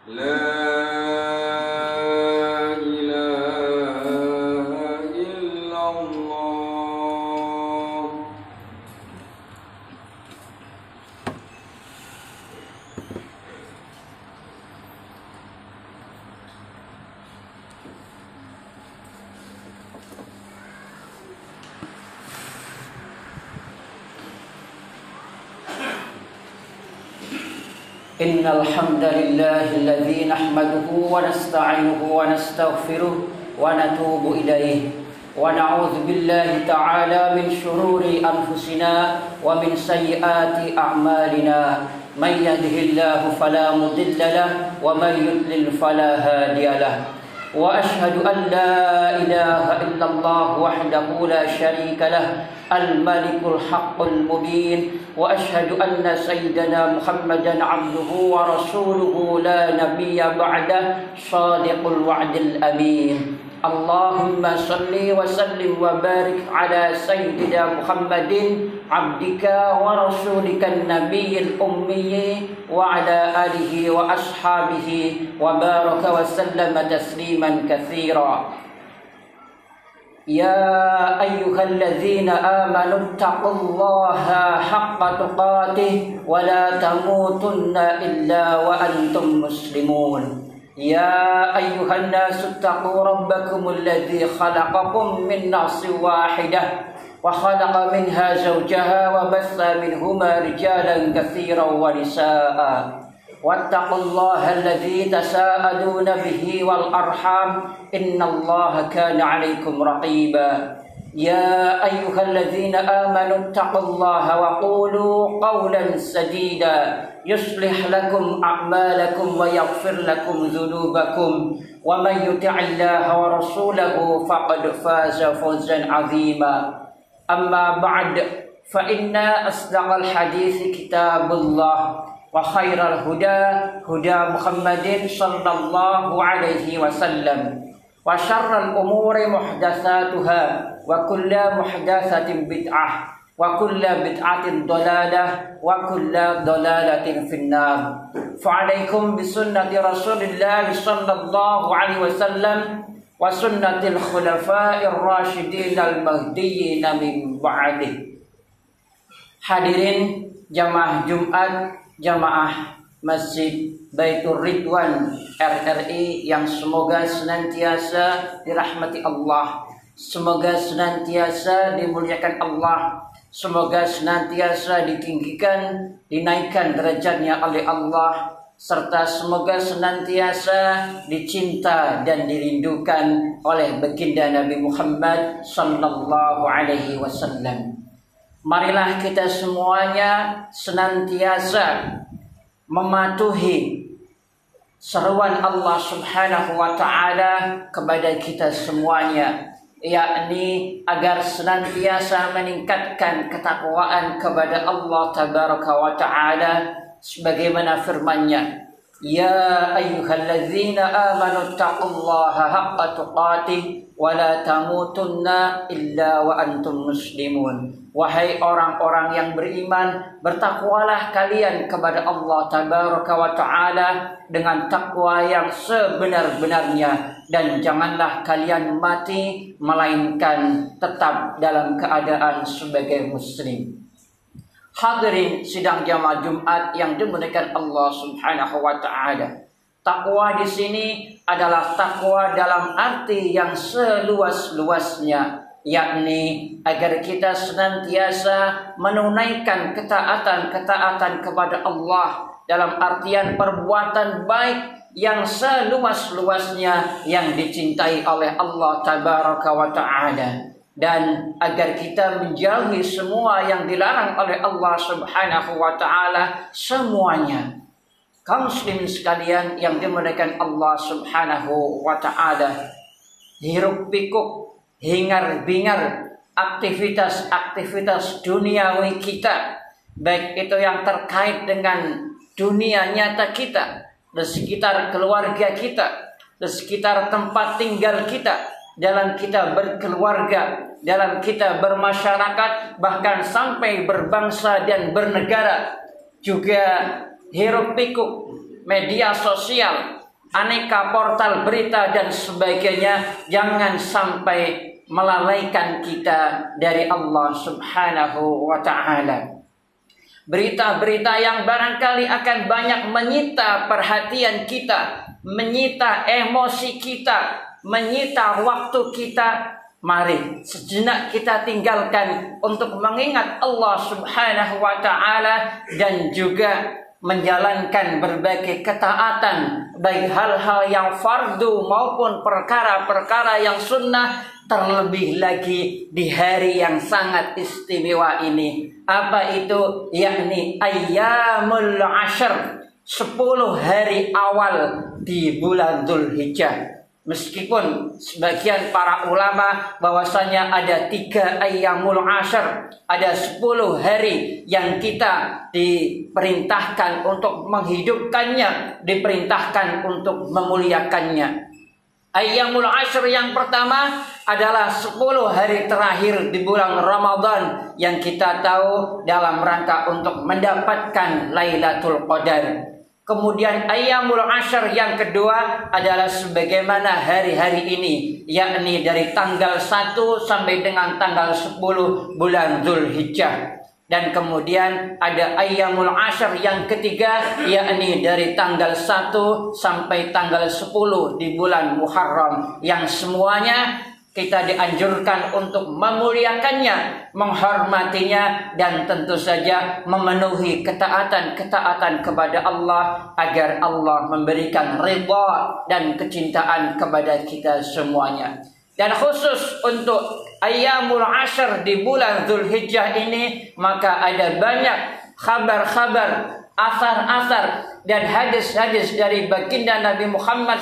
لا إله إلا الله. إن الحمد لله الذي نحمده ونستعينه ونستغفره ونتوب إليه ونعوذ بالله تعالى من شرور أنفسنا ومن سيئات أعمالنا من يهده الله فلا مضل له ومن يضلل فلا هادي له وأشهد أن لا إله إلا الله وحده لا شريك له الملك الحق المبين وأشهد أن سيدنا محمدا عبده ورسوله لا نبي بعده صادق الوعد الأمين. اللهم صل وسلم وبارك على سيدنا محمد عبدك ورسولك النبي الأمي وعلى آله وأصحابه وبارك وسلم تسليما كثيرا. يا أيها الذين آمنوا اتقوا الله حق تقاته ولا تموتن إلا وأنتم مسلمون. يا أيها الناس اتقوا ربكم الذي خلقكم من نفس واحدة وخلق منها زوجها وبث منهما رجالا كثيرا ونساء واتقوا الله الذي تساءلون به والأرحام إن الله كان عليكم رقيبا. يا أيها الذين آمنوا اتقوا الله وقولوا قولا سديدا يصلح لكم أعمالكم ويغفر لكم ذنوبكم ومن يطع الله ورسوله فقد فاز فوزا عظيما. أما بعد فإن أصدق الحديث كتاب الله وخير الهدى هدى محمد صلى الله عليه وسلم وشر الأمور محدثاتها وكل محدثة بدعة وكل بدعة ضلالة وكل ضلالة في النار. فعليكم بسنة رسول الله صلى الله عليه وسلم وسنة الخلفاء الراشدين المهديين من بعده. Hadirin jamaah Jumat, jamaah Masjid Baitur Ridwan RRI yang semoga senantiasa dirahmati Allah, semoga senantiasa dimuliakan Allah, semoga senantiasa ditinggikan, dinaikkan derajatnya oleh Allah, serta semoga senantiasa dicinta dan dirindukan oleh baginda Nabi Muhammad sallallahu alaihi wasallam. Marilah kita semuanya senantiasa mematuhi seruan Allah Subhanahu wa taala kepada kita semuanya, yakni agar senantiasa meningkatkan ketakwaan kepada Allah tabaraka wa taala sebagaimana firman-Nya, ya ayyuhalladzina amanu taqullaha haqqa tuqatih wa la tamutunna illa wa antum muslimun. Wahai orang-orang yang beriman, bertakwalah kalian kepada Allah tabaraka wa taala dengan takwa yang sebenar-benarnya, dan janganlah kalian mati melainkan tetap dalam keadaan sebagai muslim. Hadirin sidang jamaah Jumat yang dimuliakan Allah Subhanahu wa taala. Takwa di sini adalah takwa dalam arti yang seluas-luasnya, yakni agar kita senantiasa menunaikan ketaatan-ketaatan kepada Allah dalam artian perbuatan baik yang seluas-luasnya yang dicintai oleh Allah tabaraka wa ta'ala, dan agar kita menjauhi semua yang dilarang oleh Allah Subhanahu wa ta'ala semuanya. Kaum muslimin sekalian yang dimuliakan Allah Subhanahu wa ta'ala, hiruk pikuk, hingar bingar aktivitas-aktivitas duniawi kita, baik itu yang terkait dengan dunia nyata kita, di sekitar keluarga kita, di sekitar tempat tinggal kita, dalam kita berkeluarga, dalam kita bermasyarakat, bahkan sampai berbangsa dan bernegara, juga hiruk pikuk media sosial aneka portal berita dan sebagainya, jangan sampai melalaikan kita dari Allah Subhanahu wa ta'ala. Berita-berita yang barangkali akan banyak menyita perhatian kita, menyita emosi kita, menyita waktu kita. Mari sejenak kita tinggalkan untuk mengingat Allah Subhanahu wa ta'ala dan juga menjalankan berbagai ketaatan, baik hal-hal yang fardu maupun perkara-perkara yang sunnah, terlebih lagi di hari yang sangat istimewa ini. Apa itu? Yakni ayyamul ashr, 10 hari awal di bulan Dzulhijjah. Meskipun sebagian para ulama bahwasanya ada 3 ayyamul ashr, ada 10 hari yang kita diperintahkan untuk menghidupkannya, diperintahkan untuk memuliakannya. Ayyamul ashr yang pertama adalah 10 hari terakhir di bulan Ramadan yang kita tahu dalam rangka untuk mendapatkan Lailatul Qadar. Kemudian ayyamul ashr yang kedua adalah sebagaimana hari-hari ini, yakni dari tanggal 1 sampai dengan tanggal 10 bulan Dzulhijjah. Dan kemudian ada ayyamul ashr yang ketiga, yakni dari tanggal 1 sampai tanggal 10 di bulan Muharram, yang semuanya kita dianjurkan untuk memuliakannya, menghormatinya, dan tentu saja memenuhi ketaatan-ketaatan kepada Allah agar Allah memberikan ridha dan kecintaan kepada kita semuanya. Dan khusus untuk ayyamul ashr di bulan Dzulhijjah ini, maka ada banyak kabar-kabar, asar-asar dan hadis-hadis dari baginda Nabi Muhammad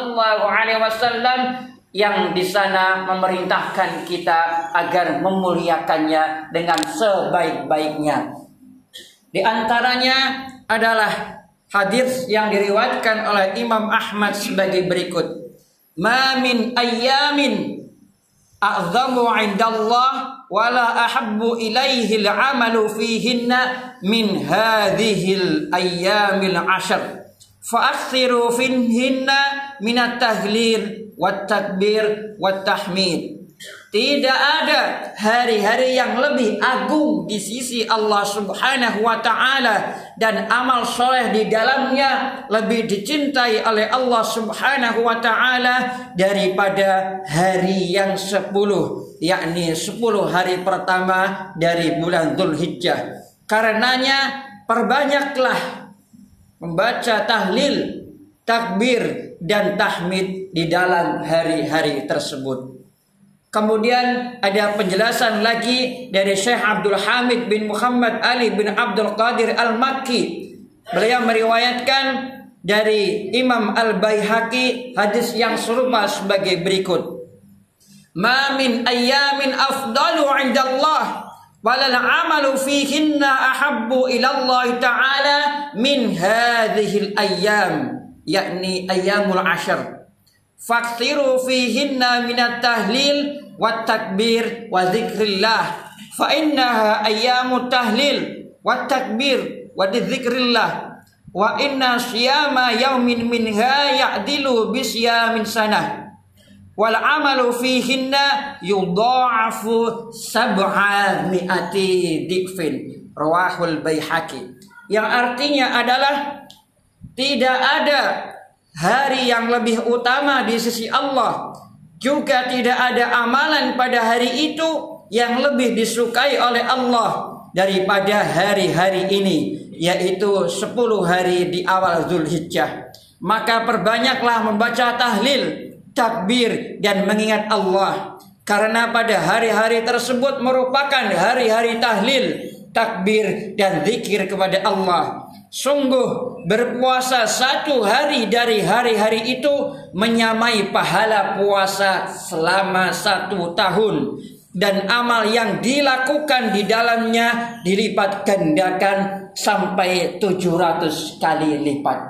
SAW yang di sana memerintahkan kita agar memuliakannya dengan sebaik-baiknya. Di antaranya adalah hadis yang diriwayatkan oleh Imam Ahmad sebagai berikut. Ma min ayyamin a'zamu 'indallah wa la ahabbu ilaihi al-'amalu fihinna min hadhil ayyamil 'ashr. Fa'aksiru fihinna minat tahlil wat takbir wat tahmid. Tidak ada hari-hari yang lebih agung di sisi Allah Subhanahu wa ta'ala dan amal soleh di dalamnya lebih dicintai oleh Allah Subhanahu wa ta'ala daripada hari yang 10, yakni 10 hari pertama dari bulan Dzulhijjah. Karenanya perbanyaklah membaca tahlil, takbir, dan tahmid di dalam hari-hari tersebut. Kemudian ada penjelasan lagi dari Syekh Abdul Hamid bin Muhammad Ali bin Abdul Qadir Al-Makki. Beliau meriwayatkan dari Imam Al-Baihaqi hadis yang serupa sebagai berikut. Ma min ayyamin afdalu 'indallah walal amalu fihinna ahabbu ilallah ta'ala min hadhil ayyam, yakni ayyamul ashr. Faksiru fihinna minat tahlil wat takbir wa zikrillah, fa innaha ayyamut tahlil wat takbir wa zikrillah, wa inna siyama yaumin minha ya'dilu bisyamin sanah. Wal amalu fihinna yudha'afu 700 dikfin. Rawahul Baihaqi. Yang artinya adalah tidak ada hari yang lebih utama di sisi Allah, juga tidak ada amalan pada hari itu yang lebih disukai oleh Allah daripada hari-hari ini, yaitu 10 hari di awal Dzulhijjah. Maka perbanyaklah membaca tahlil, takbir, dan mengingat Allah, karena pada hari-hari tersebut merupakan hari-hari tahlil, takbir, dan zikir kepada Allah. Sungguh berpuasa 1 hari dari hari-hari itu menyamai pahala puasa selama 1 tahun, dan amal yang dilakukan di dalamnya dilipat gandakan sampai 700 kali lipat.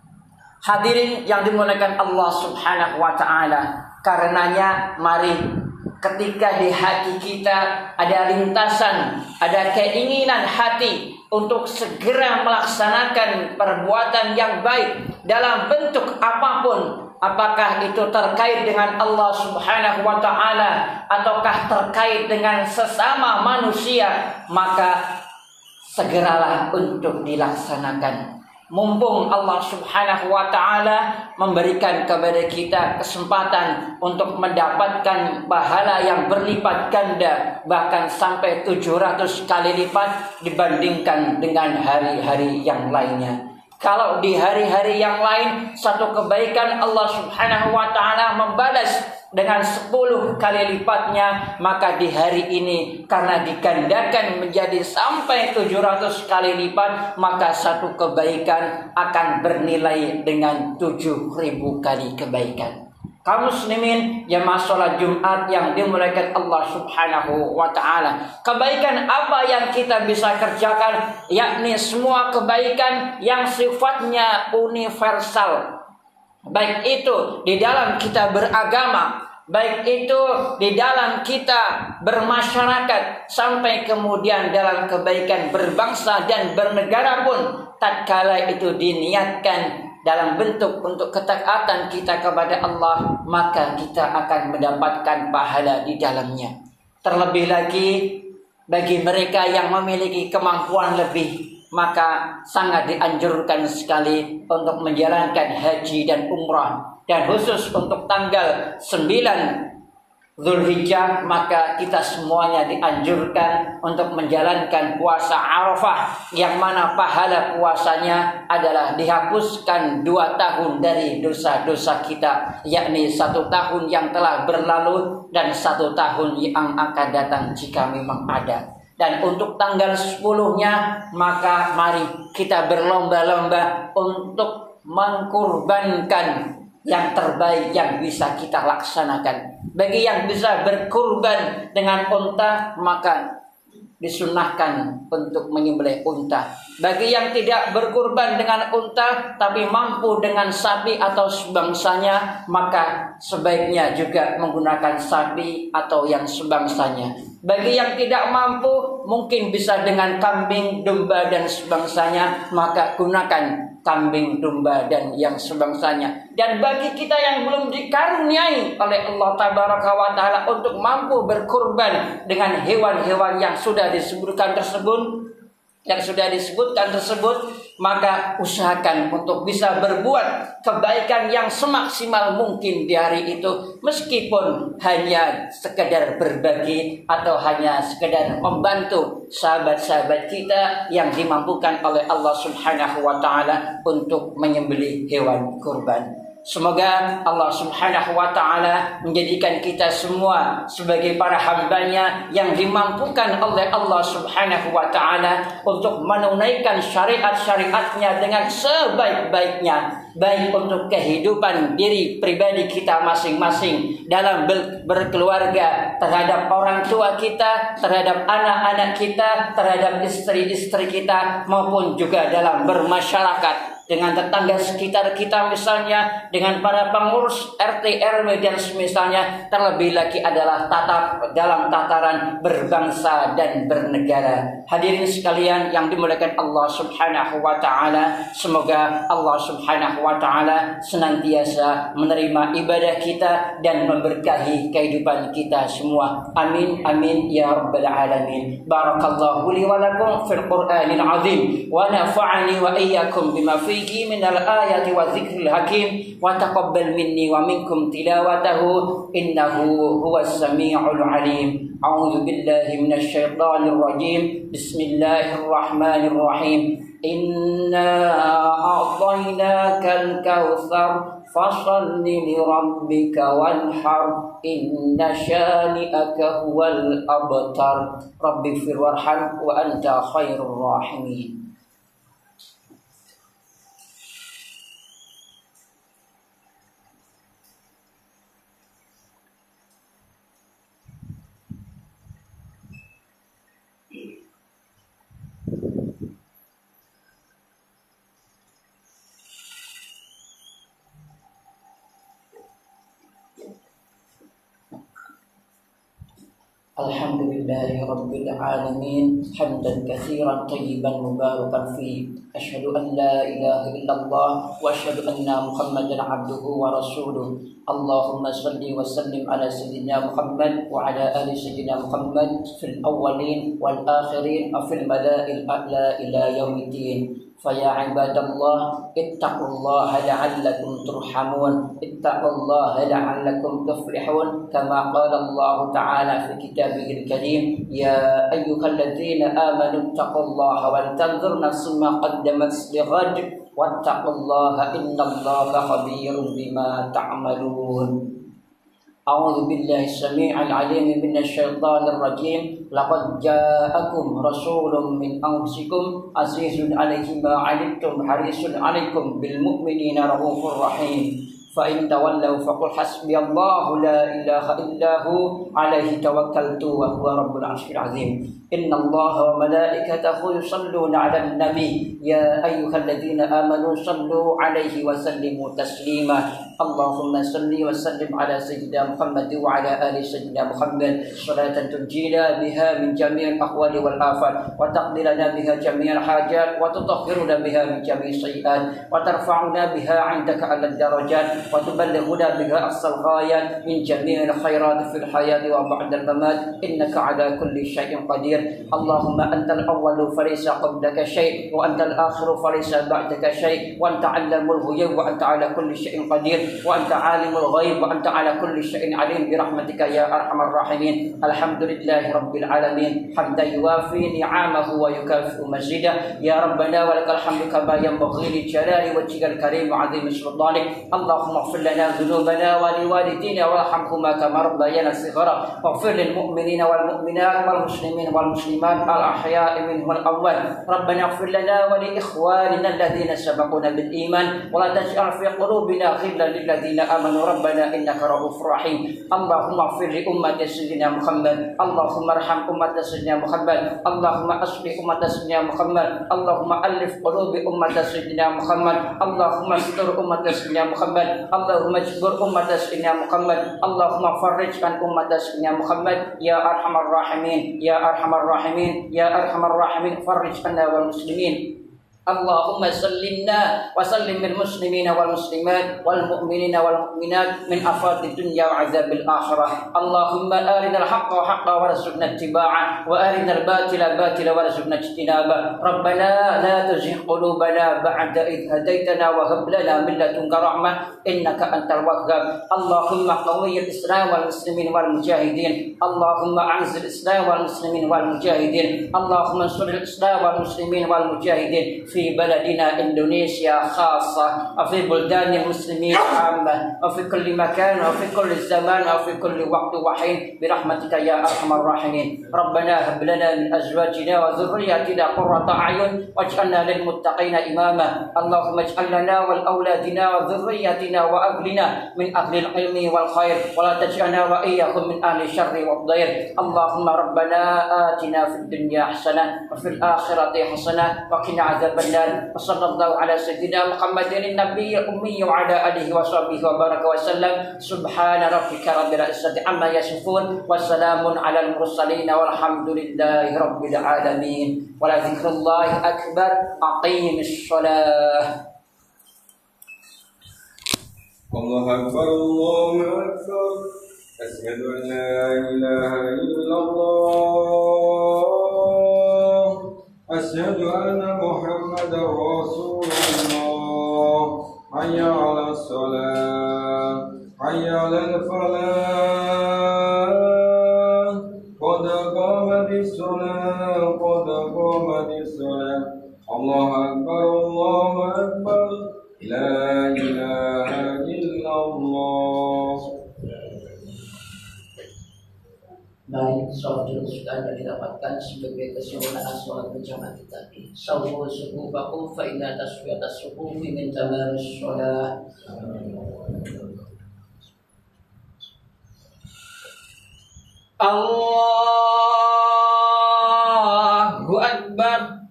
Hadirin yang dimuliakan Allah Subhanahu wa ta'ala, karenanya mari ketika di hati kita ada lintasan, ada keinginan hati untuk segera melaksanakan perbuatan yang baik, dalam bentuk apapun, apakah itu terkait dengan Allah Subhanahu wa taala ataukah terkait dengan sesama manusia, maka segeralah untuk dilaksanakan. Mumpung Allah Subhanahu wa taala memberikan kepada kita kesempatan untuk mendapatkan pahala yang berlipat ganda, bahkan sampai 700 kali lipat dibandingkan dengan hari-hari yang lainnya. Kalau di hari-hari yang lain satu kebaikan Allah Subhanahu wa taala membalas dengan 10 kali lipatnya, maka di hari ini karena digandakan menjadi sampai 700 kali lipat, maka satu kebaikan akan bernilai dengan 7.000 kali kebaikan. Kaum muslimin jamaah salat Jumat yang dimuliakan Allah Subhanahu wa taala, kebaikan apa yang kita bisa kerjakan? Yakni semua kebaikan yang sifatnya universal. Baik itu di dalam kita beragama, baik itu di dalam kita bermasyarakat, sampai kemudian dalam kebaikan berbangsa dan bernegara pun, tatkala itu diniatkan dalam bentuk untuk ketaatan kita kepada Allah, maka kita akan mendapatkan pahala di dalamnya. Terlebih lagi bagi mereka yang memiliki kemampuan lebih, maka sangat dianjurkan sekali untuk menjalankan haji dan umrah. Dan khusus untuk tanggal 9 Zulhijjah, maka kita semuanya dianjurkan untuk menjalankan puasa Arafah, yang mana pahala puasanya adalah dihapuskan 2 tahun dari dosa-dosa kita, yakni 1 tahun yang telah berlalu dan 1 tahun yang akan datang jika memang ada. Dan untuk tanggal 10-nya, maka mari kita berlomba-lomba untuk mengkurbankan yang terbaik yang bisa kita laksanakan. Bagi yang bisa berkurban dengan unta, maka disunahkan untuk menyembelih unta. Bagi yang tidak berkurban dengan unta tapi mampu dengan sapi atau sebangsanya, maka sebaiknya juga menggunakan sapi atau yang sebangsanya. Bagi yang tidak mampu, mungkin bisa dengan kambing, domba dan sebangsanya, maka gunakan kambing, domba dan yang sebangsanya. Dan bagi kita yang belum dikaruniai oleh Allah Tabaraka wa Ta'ala untuk mampu berkurban dengan hewan-hewan yang sudah disebutkan tersebut, maka usahakan untuk bisa berbuat kebaikan yang semaksimal mungkin di hari itu, meskipun hanya sekedar berbagi atau hanya sekedar membantu sahabat-sahabat kita yang dimampukan oleh Allah Subhanahu wa Ta'ala untuk menyembelih hewan kurban. Semoga Allah Subhanahu wa Ta'ala menjadikan kita semua sebagai para hambanya yang dimampukan oleh Allah Subhanahu wa Ta'ala untuk menunaikan syariat-syariatnya dengan sebaik-baiknya, baik untuk kehidupan diri pribadi kita masing-masing dalam berkeluarga, terhadap orang tua kita, terhadap anak-anak kita, terhadap istri-istri kita, maupun juga dalam bermasyarakat dengan tetangga sekitar kita, misalnya dengan para pengurus RT RW dan semisalnya. Terlebih lagi adalah dalam tataran berbangsa dan bernegara. Hadirin sekalian yang dimuliakan Allah Subhanahu wa Ta'ala, semoga Allah Subhanahu wa Ta'ala senantiasa menerima ibadah kita dan memberkahi kehidupan kita semua. Amin amin ya rabbal alamin. Barakallahu li wa lakum fil Qur'anil azim wa nafa'ani wa iyyakum bima fihi minal ayati wa dzikril hakim wa taqabbal minni wa minkum tilawatahu innahu huwas samiul alim. A'udzu billahi minasy syaithanir rajim. Bismillahirrahmanirrahim. Inna a'tainakal kautsar fashalli li rabbika wanhar inna syani'aka huwal abtar. Rabbighfir warham wa anta khairur rahimin. Alhamdulillahi Rabbil Alamin hamdan katsiran tayyiban mubarakan fi asyhadu an la ilaha illallah wa asyhadu anna Muhammadan abduhu wa rasuluh. Allahumma shalli wa sallim ala sayyidina Muhammad wa ala ali sayyidina Muhammad fil awwalin wal akhirin wa fil malaa'il a'la ila yaumiddin. فيا عباد الله اتقوا الله لعلكم ترحمون اتقوا الله لعلكم تفلحون كما قال الله تعالى في كتابه الكريم يا أيها الذين آمنوا اتقوا الله ولتنظر نفس ما قدمت لغد واتقوا الله إن الله خبير بما تعملون. أعوذ بالله السميع العليم من الشيطان الرجيم لقد جاءكم رسول من أنفسكم عزيز عليه ما عنتم حريص عليكم بالمؤمنين رؤوف رحيم فإن تولوا فقل حسبي الله لا إله إلا هو عليه توكلت وهو رب العرش العظيم. إن الله وملائكته يصلون على النبي يا أيها الذين آمنوا صلوا عليه وسلموا تسليما. اللهم صل وسلم على سيدنا محمد وعلى آل سيدنا محمد صلاة تنجينا بها من جميع الأحوال والآفات وتقضي لنا بها جميع الحاجات وتطهرنا بها من جميع السيئات وترفعنا بها عندك على الدرجات وتبلغنا بها أقصى الغايات من جميع الخيرات في الحياة وبعد الممات إنك على كل شيء قدير. اللهم أنت الأول فليس قبلك شيء وأنت الآخر فليس بعدك شيء وأنت علم الغيوب وأنت على كل شيء قدير وأنت عالم الغيب وأنت على كل شيء عليم برحمتك يا أرحم الراحمين. الحمد لله رب العالمين حمدا يوافي نعمه ويكافئ مزيدا. يا ربنا ولك الحمد كما ينبغي لجلال وجهك الكريم وعظيم سلطانك. اللهم اغفر لنا ذنوبنا ولوالدينا وارحمهما كما ربيانا صغارا واغفر للمؤمنين والمؤمنات والمسلمين والمسلمات الأحياء منهم والأموات. ربنا اغفر لنا ولإخواننا الذين سبقونا بالإيمان ولا تجعل في قلوبنا غلا للذين آمنوا ربنا إنك رؤوف رحيم. اللهم اغفر لأمة سيدنا محمد. اللهم ارحم أمة سيدنا محمد. اللهم أصلح أمة سيدنا محمد. اللهم ألف قلوب أمة سيدنا محمد. اللهم استر أمة سيدنا محمد. اللهم اجبر أمة سيدنا محمد. اللهم فرج عن أمة سيدنا محمد يا أرحم الراحمين يا أرحم الراحمين يا أرحم الراحمين. فرج عنا والمسلمين. اللهم سلمنا وسلم المسلمين والمسلمات والمؤمنين والمؤمنات من آفات الدنيا وعذاب الآخرة. اللهم أرنا الحق حقا وارزقنا اتباعه وأرنا الباطل باطلا وارزقنا اجتنابه. ربنا لا تزغ قلوبنا بعد إذ هديتنا وهب لنا من لدنك رحمة إنك أنت الوهاب. اللهم قوي الإسلام والمسلمين والمجاهدين. اللهم أعز الإسلام والمسلمين والمجاهدين. اللهم انصر الإسلام والمسلمين والمجاهدين في بلدنا إندونيسيا خاصة وفي بلدان المسلمين عامة وفي كل مكان وفي كل زمان وفي كل وقت وحين برحمتك يا أرحم الراحمين. ربنا هب لنا من أزواجنا وذرياتنا قرة أعين واجعلنا للمتقين إماما. اللهم اجعل لنا ولأولادنا وذرياتنا وأهلنا من أهل العلم والخير ولا تجعلنا وإياهم من أهل الشر والضير. اللهم ربنا آتنا في الدنيا حسنة وفي الآخرة حسنة وقنا عذاب النار. وصلى الله على سيدنا محمد النبي الأمي وعلى آله وصحبه وبارك وسلم. سبحان ربك رب العزة عما يصفون وسلام على المرسلين والحمد لله رب العالمين. ولذكر الله أكبر. أقيم الصلاة. الله أكبر الله أكبر أشهد أن لا إله إلا الله أشهد أن محمدا رسول الله. حي على الصلاة حي على الفلاح قد قامت الصلاة قد قامت الصلاة. الله أكبر الله أكبر لا إله إلا الله. Baik, sholat dulu sudah Anda didapatkan sebagai kesempurnaan sholat berjamaah tadi. Sawu subuhakum fa inna taswiyatas subuhi min tamamis sholat. Allahu Akbar.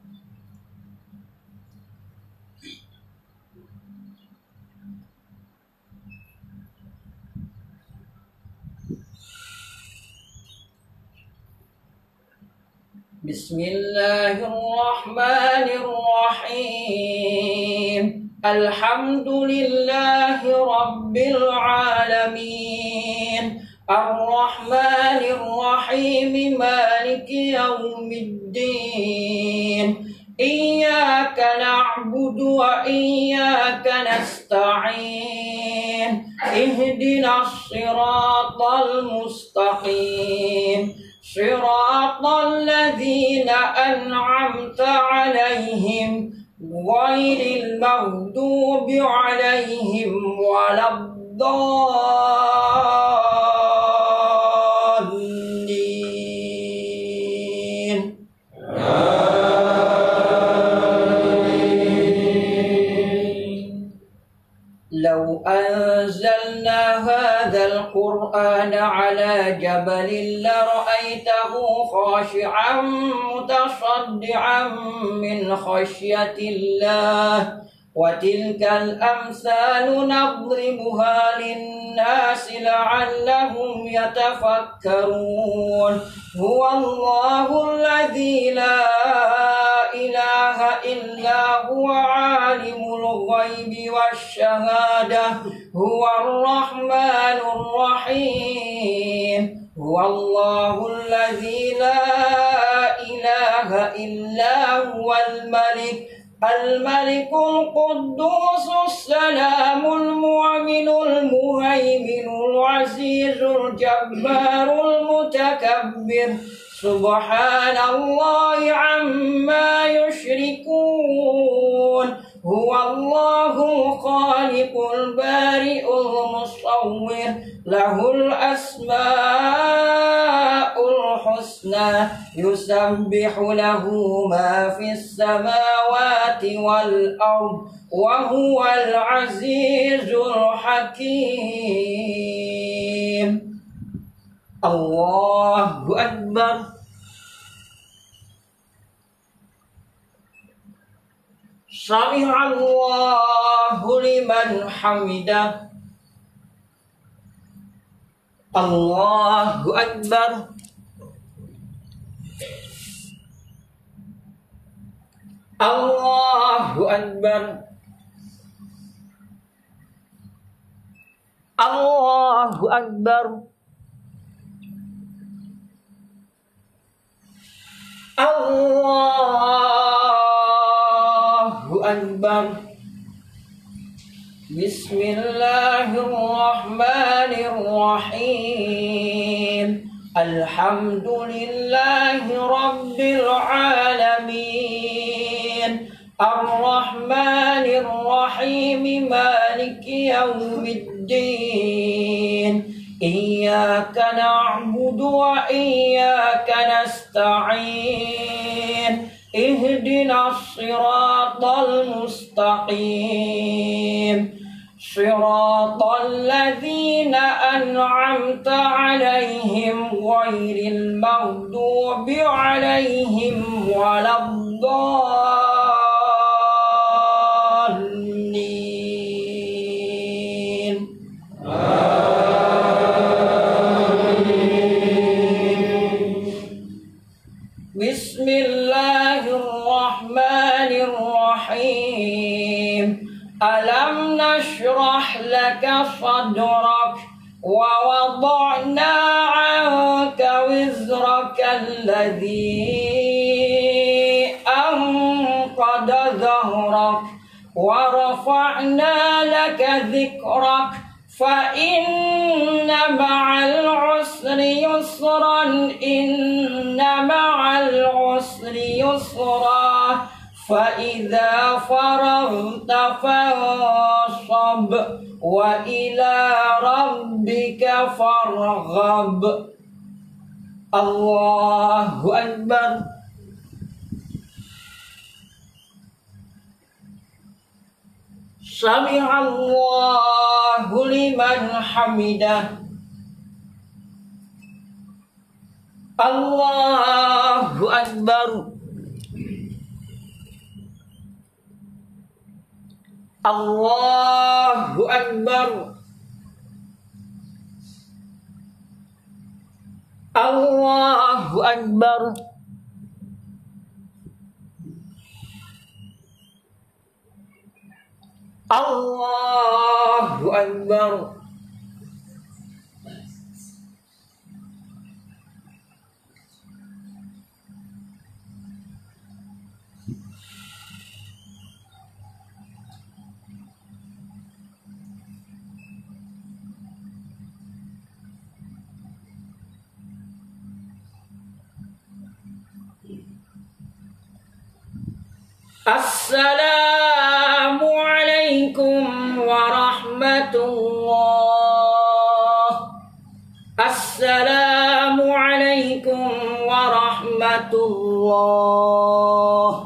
Bismillahirrahmanirrahim. Alhamdulillahi Rabbil Alamin. Ar-Rahmanir-Rahim. Maliki Yawmiddin. Iyyaka na'budu wa iyyaka nasta'in. Ihdinas siratal mustaqim. Siratal ladzina an'amta 'alaihim ghairil maghdubi 'alaihim waladdallin. لو أنزلنا هذا القرآن على جبل لرأيته خاشعا متصدعا من خشية الله وتلك الأمثال نضربها للناس لعلهم يتفكرون. هو الله الذي لا إله إلا هو عالم الغيب والشهادة هو الرحمن الرحيم. هو الله الذي لا إله إلا هو الملك القدوس السلام المؤمن المهيمن العزيز الجبار المتكبر. سبحان الله عما يشركون. هو الله الخالق البارئ المصور له الأسماء الحسنى يسبح له ما في السماوات والأرض وهو العزيز الحكيم. الله أكبر. سمع الله لمن حمده. الله أكبر. الله أكبر. الله أكبر. الله أكبر. بسم الله الرحمن الرحيم. الحمد لله رب العالمين. الرحمن الرحيم. مالك يوم الدين. إياك نعبد وإياك نستعين. اهدنا الصراط المستقيم. صراط الذين أنعمت عليهم غير المغضوب عليهم ولا الضالين. بسم الله الرحمن الرحيم. ألم نشرح لك صدرك ووضعنا عنك وزرك الذي أنقض ظهرك ورفعنا لك ذكرك فإن مع العسر يسرا. إن مع العسر يسرا. فإذا فرغت فانصب وإلى ربك فارغب. الله أكبر. سمع الله لمن حمده. الله أكبر. الله أكبر. الله أكبر. Allahu Akbar. Assalamualaikum warahmatullah. Assalamualaikum warahmatullah.